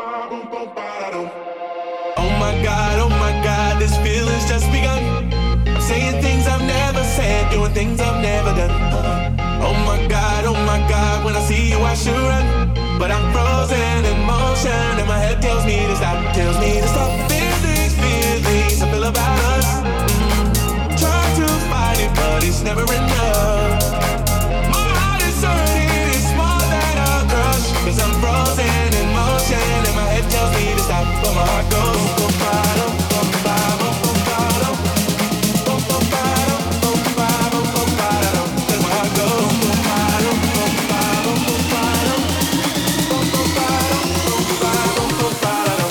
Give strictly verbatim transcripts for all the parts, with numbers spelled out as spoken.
Oh my God, oh my God, this feeling's just begun. I'm saying things I've never said, doing things I've never done. Oh my God, oh my God, when I see you I should run, but I'm frozen in motion and my head tells me to stop, tells me to stop. Feelings, feelings I feel about us. Mm, try to fight it, but it's never enough. My heart is hurting, it's more than a crush, cause I'm frozen in motion and my head tells me to stop, but my heart goes boom, bottom, boom, bottom, boom, bottom, boom, boom, bottom, boom, bottom, boom, bottom. Let my heart go boom, bottom, boom, bottom, boom, bottom, boom, boom, bottom, boom, bottom, boom, bottom.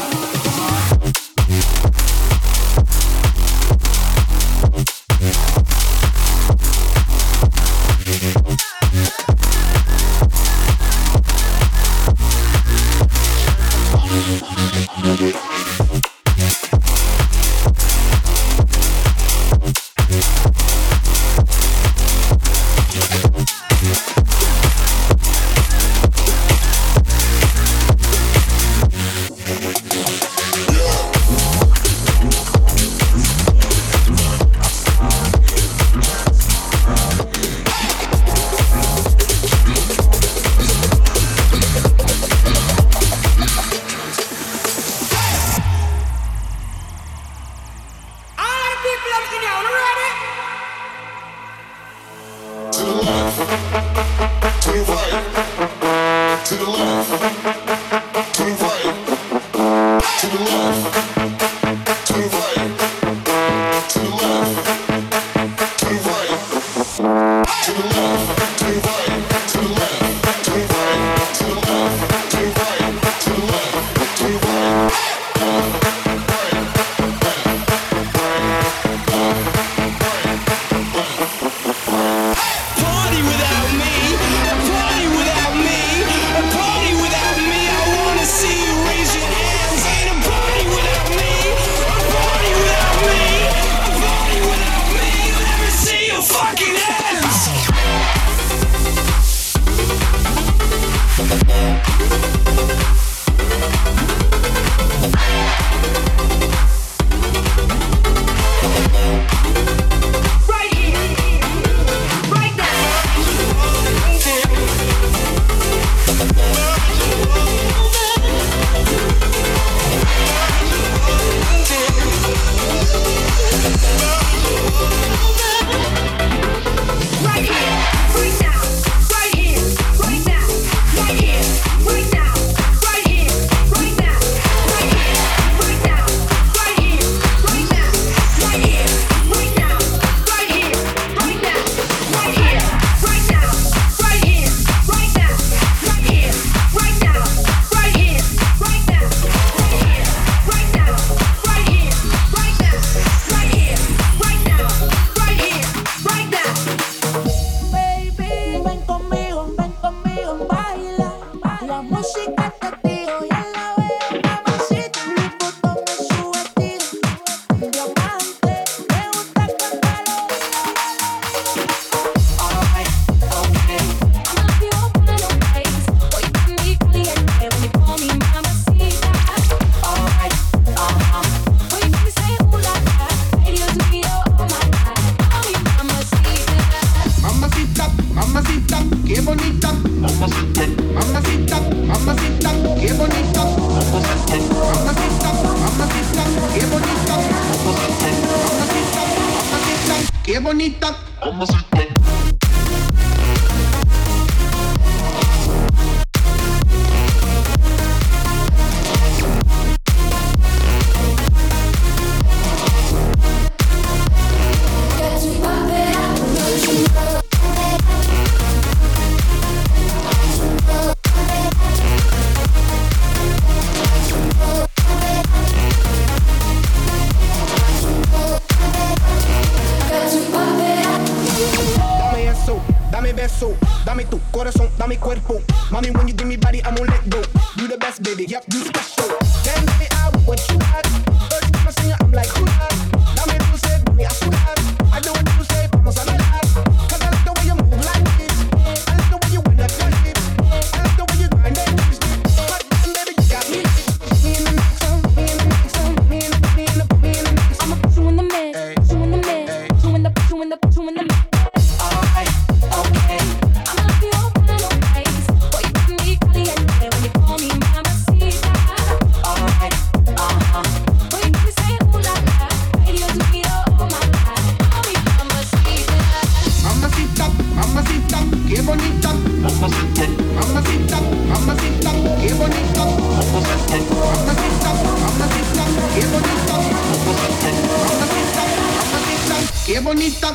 Qué bonita.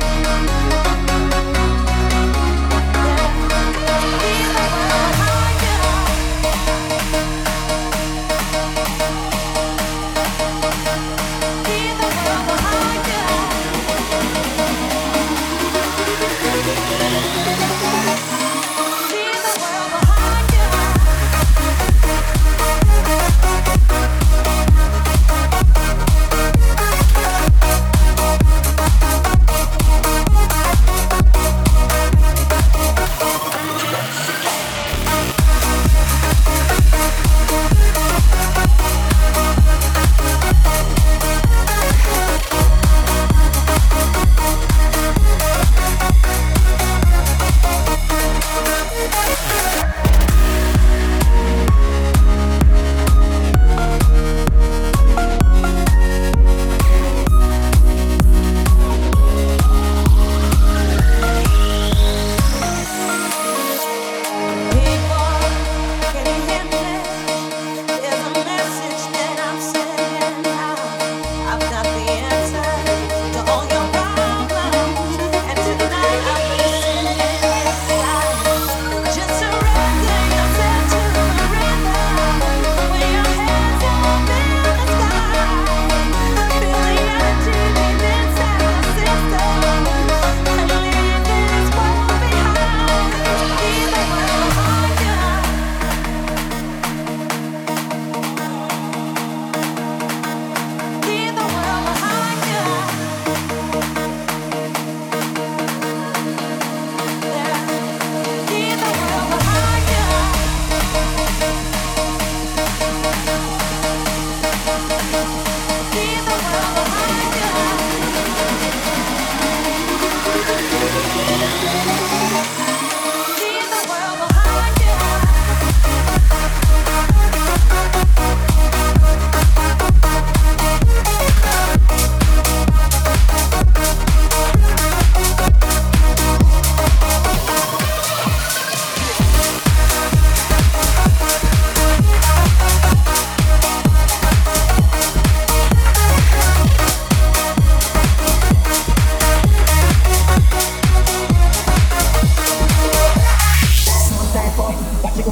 Higher.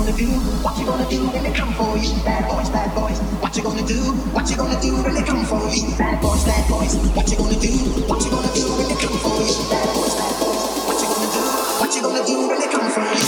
gonna do? What you gonna do when they come for you? Bad boys, bad boys. What you gonna do? What you gonna do when they come for you? Bad boys, bad boys. What you gonna do? What you gonna do when they come for you? Bad boys, bad boys. What you gonna do? What you gonna do when they come for you?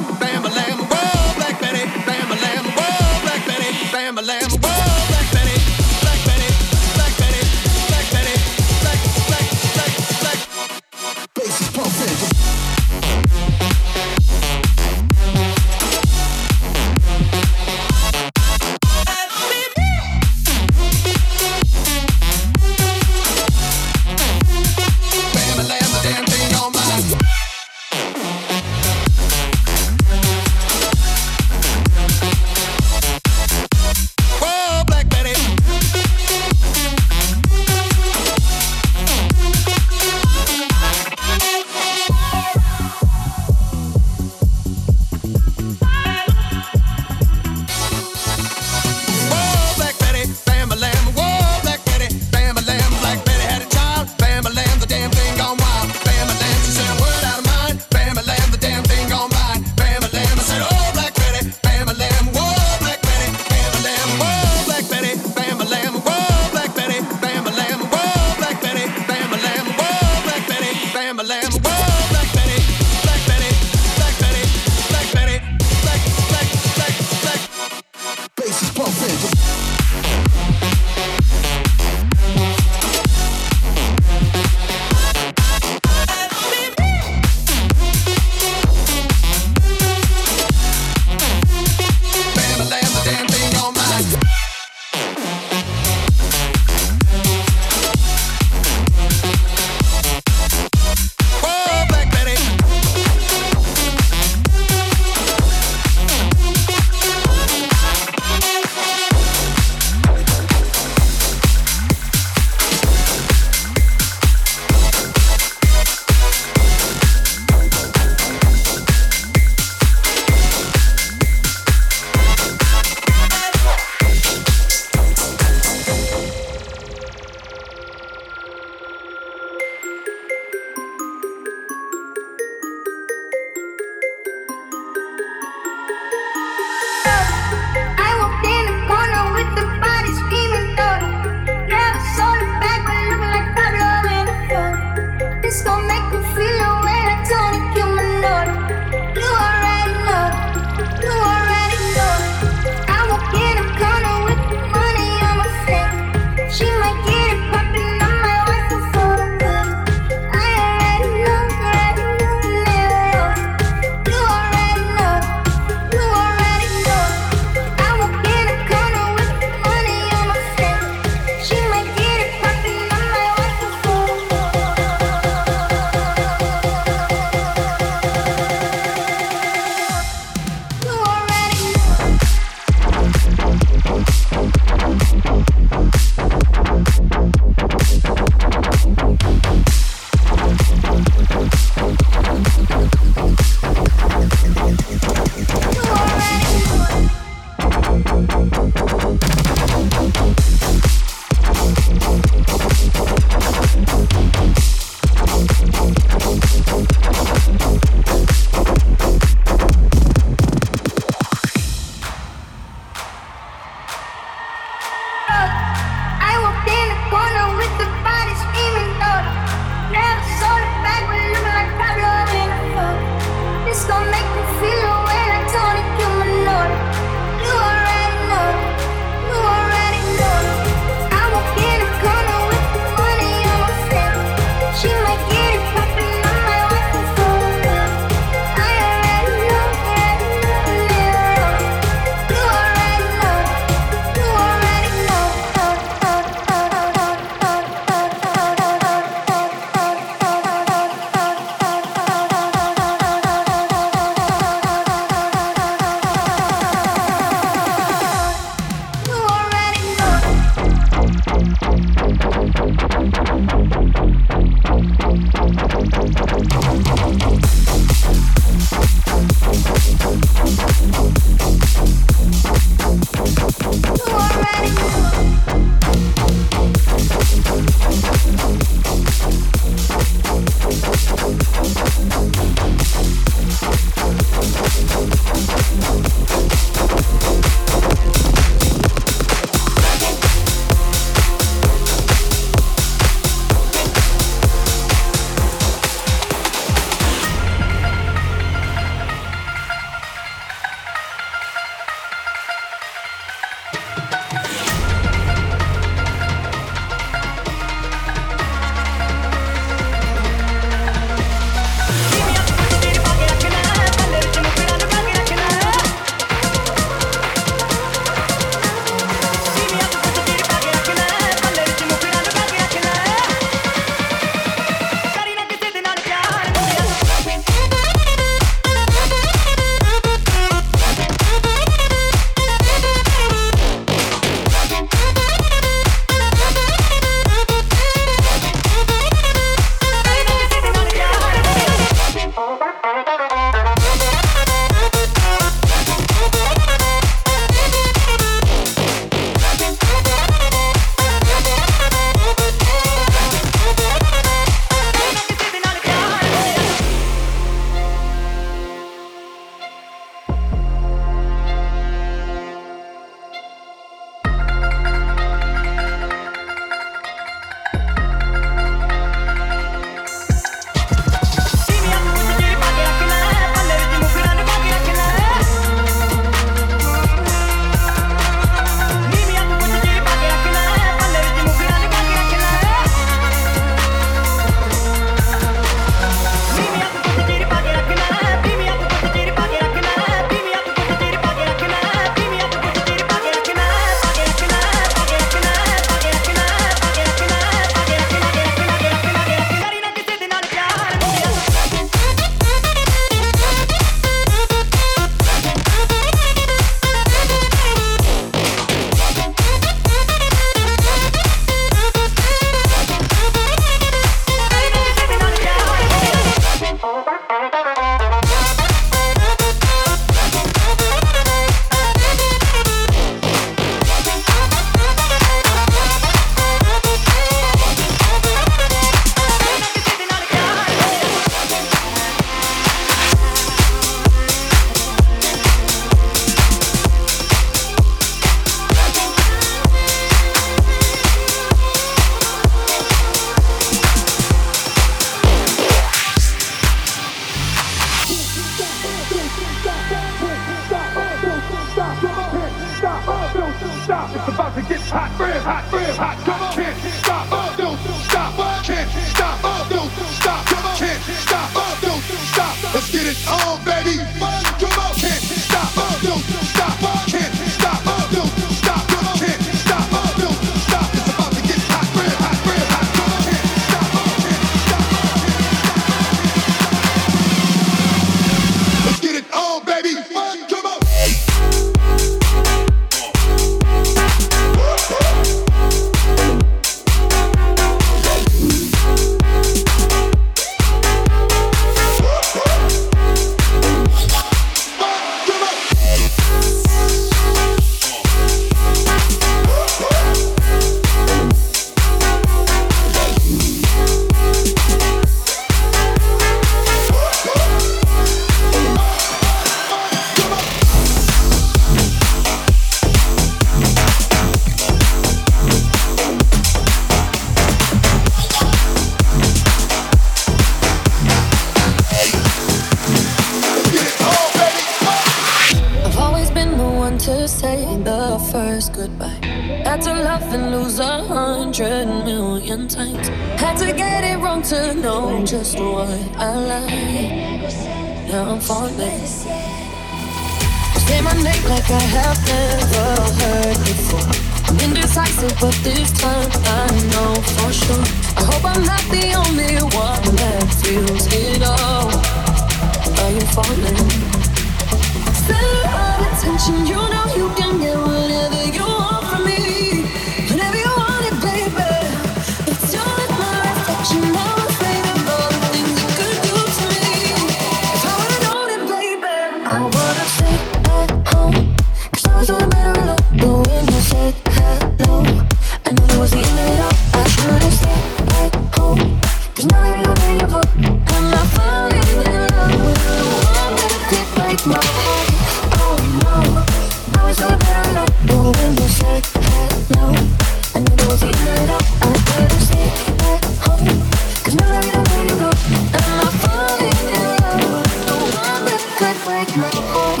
say the first goodbye. Had to laugh and lose a hundred million times. Had to get it wrong to know just what I like. Now I'm falling. Say my name like I have never heard before. I'm indecisive, but this time I know for sure. I hope I'm not the only one that feels it all. Are you falling? Center of attention, you know you can get whatever you want from me. Whenever you want it, baby. It's you and my reflection. I'm afraid of all the things you could do to me. If I would've known it, baby, I would've stayed at home. Cause I was doing better alone. But when you said hello, I knew it was the end of it all. I should've stayed at home. Cause now I know where you go. I'm not falling in love with the one that could break my heart. I was doing better alone. But when you said hello, I knew it was the end of it all. I should've stayed at home. Cause now I know where you go. I'm not falling in love with the one that could break my heart.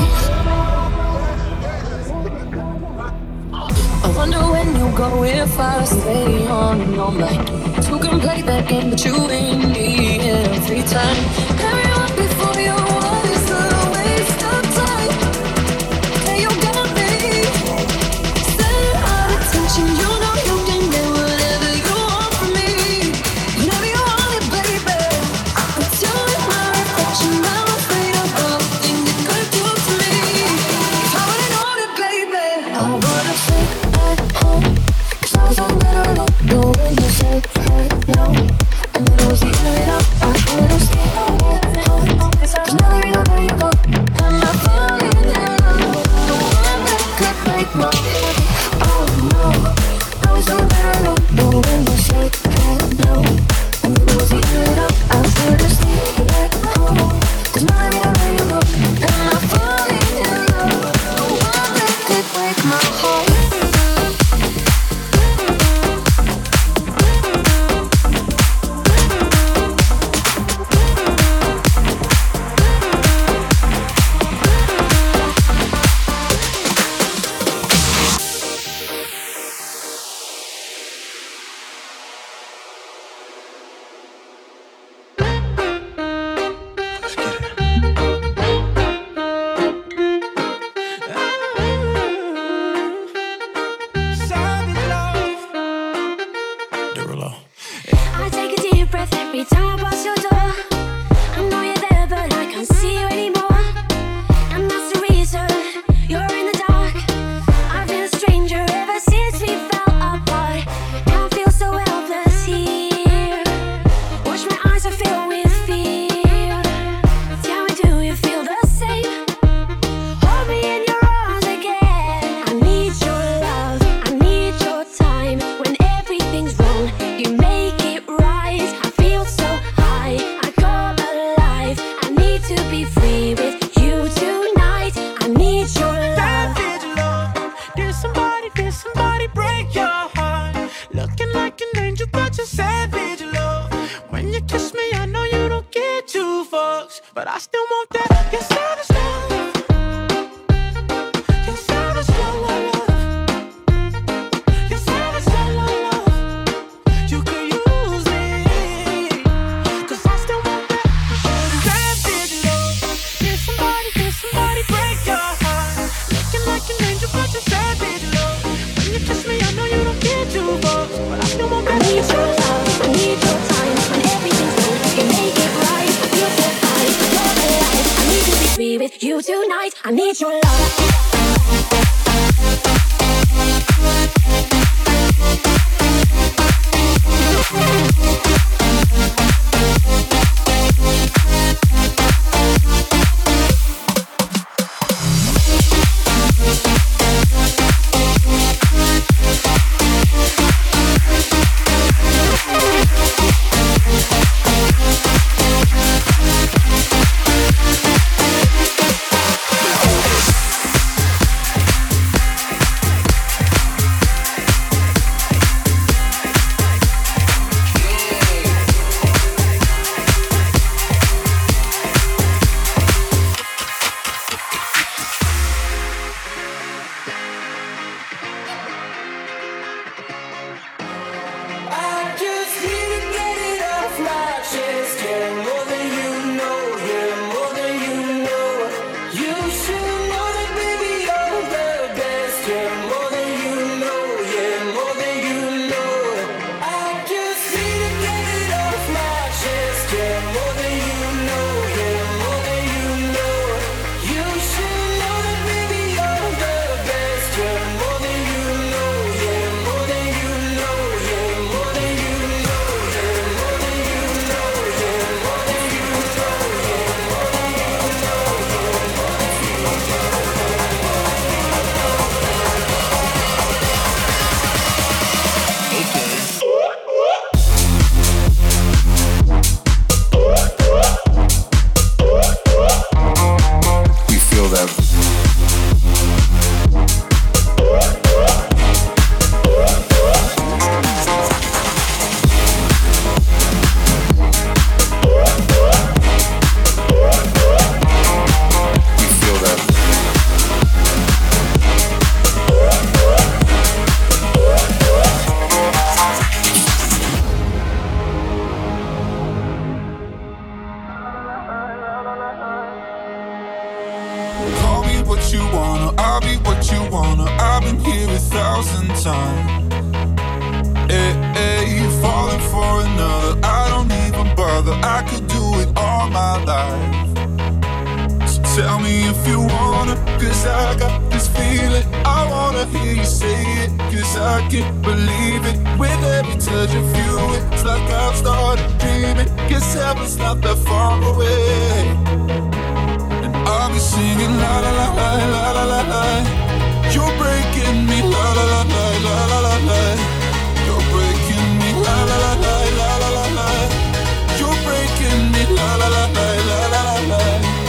I wonder when you go if I stay on all night. Who can play that game but you and me every time? Everyone before you was a waste of time. Yeah, you got me. Center of attention, you know you can get whatever you want from me. Whenever you want it, baby. But you and my reflection, I'm afraid of all the things you could do to me. If I would've known it, baby, I would've stayed at home. Cause I was doing better alone. But when you said hello, I knew it was the end of it all. I should've stayed at home. Cause now I know where you go. I'm not falling in love with the one that could break my heart. Oh no, I was doing better alone. But when you said hello, I knew it was the end of it all. I should've stayed at home. Cause now I know where you go. I'm not falling in love with the one that could break my heart. I take a deep breath every time I pass your door. I know you're there, but I can't see you anymore. And that's the reason you're in the dark. I've been a stranger ever since we fell apart. Now I feel so helpless here. Watch my eyes are filled with fear. Tell me, do you feel the same? Hold me in your arms again. I need your love, I need your time. When everything's wrong, you make it right. I feel so high, I come alive. I need to be free with you tonight. I need your love. Savage love. Did somebody, did somebody break your heart? Looking like an angel, but you're savage love. When you kiss me, I know you don't get two fucks, but I still want that. You're savage love. You're savage love. You're savage love. You could use me, cause I still want that. Savage love. Did somebody, did somebody break your heart? Looking like an angel, but you're savage love. When you kiss me, I know you don't get two fucks, but I still want I that. need your love, I need your time. When everything's wrong, you make it right. I feel so high, I come alive. I need to be free with you tonight. I need your love. what you wanna, I'll be what you wanna. I've been here a thousand times. Hey, hey, you falling for another, I don't even bother. I could do it all my life. So tell me if you wanna, cause I got this feeling. I wanna hear you say it, cause I can't believe it. With every touch of you, it's like I've started dreaming. Guess heaven's not that far away. And I'll be singing la la la la la la la la. You're breaking me la la la la la la la la. You're breaking me la la la la la la la la. You're breaking me la la la la la la la la.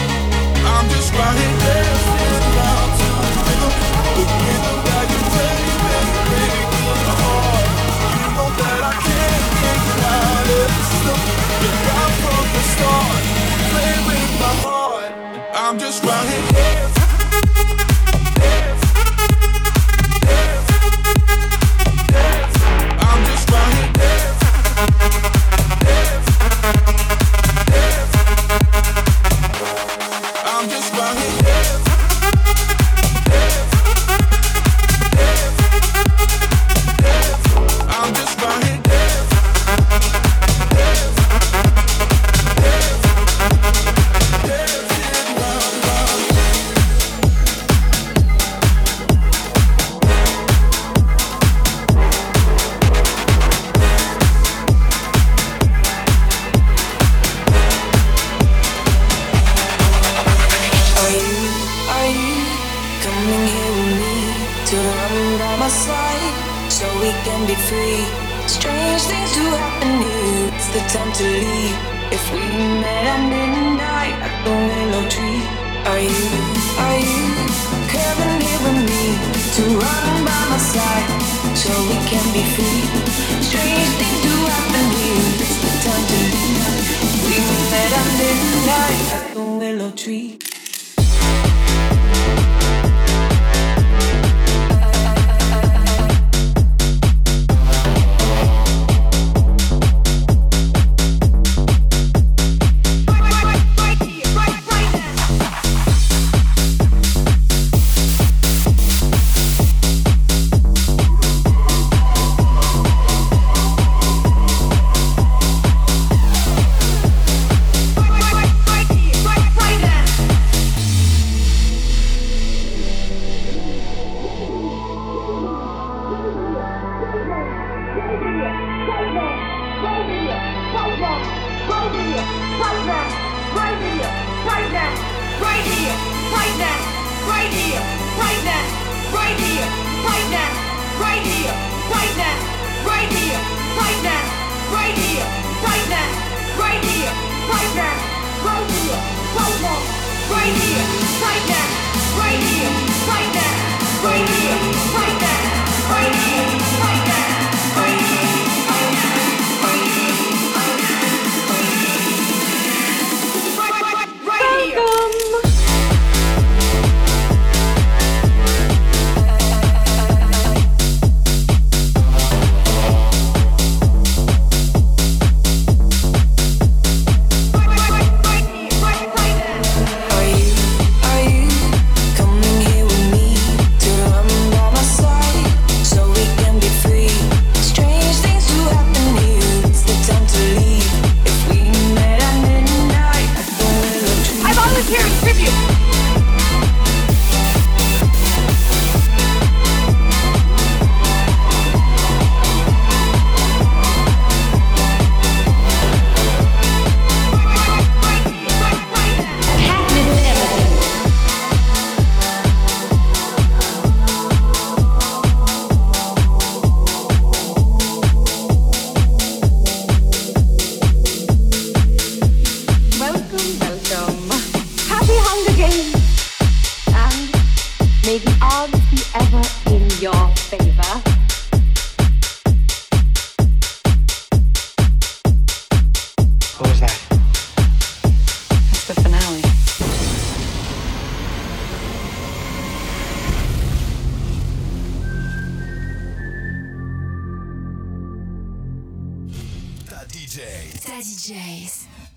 I'm just riding dancing around to the rhythm, the rhythm that you play, baby, baby, in my heart. You know that I can't get you out of the system. You're right from the start, play with my heart. I'm just riding dancing. D Js.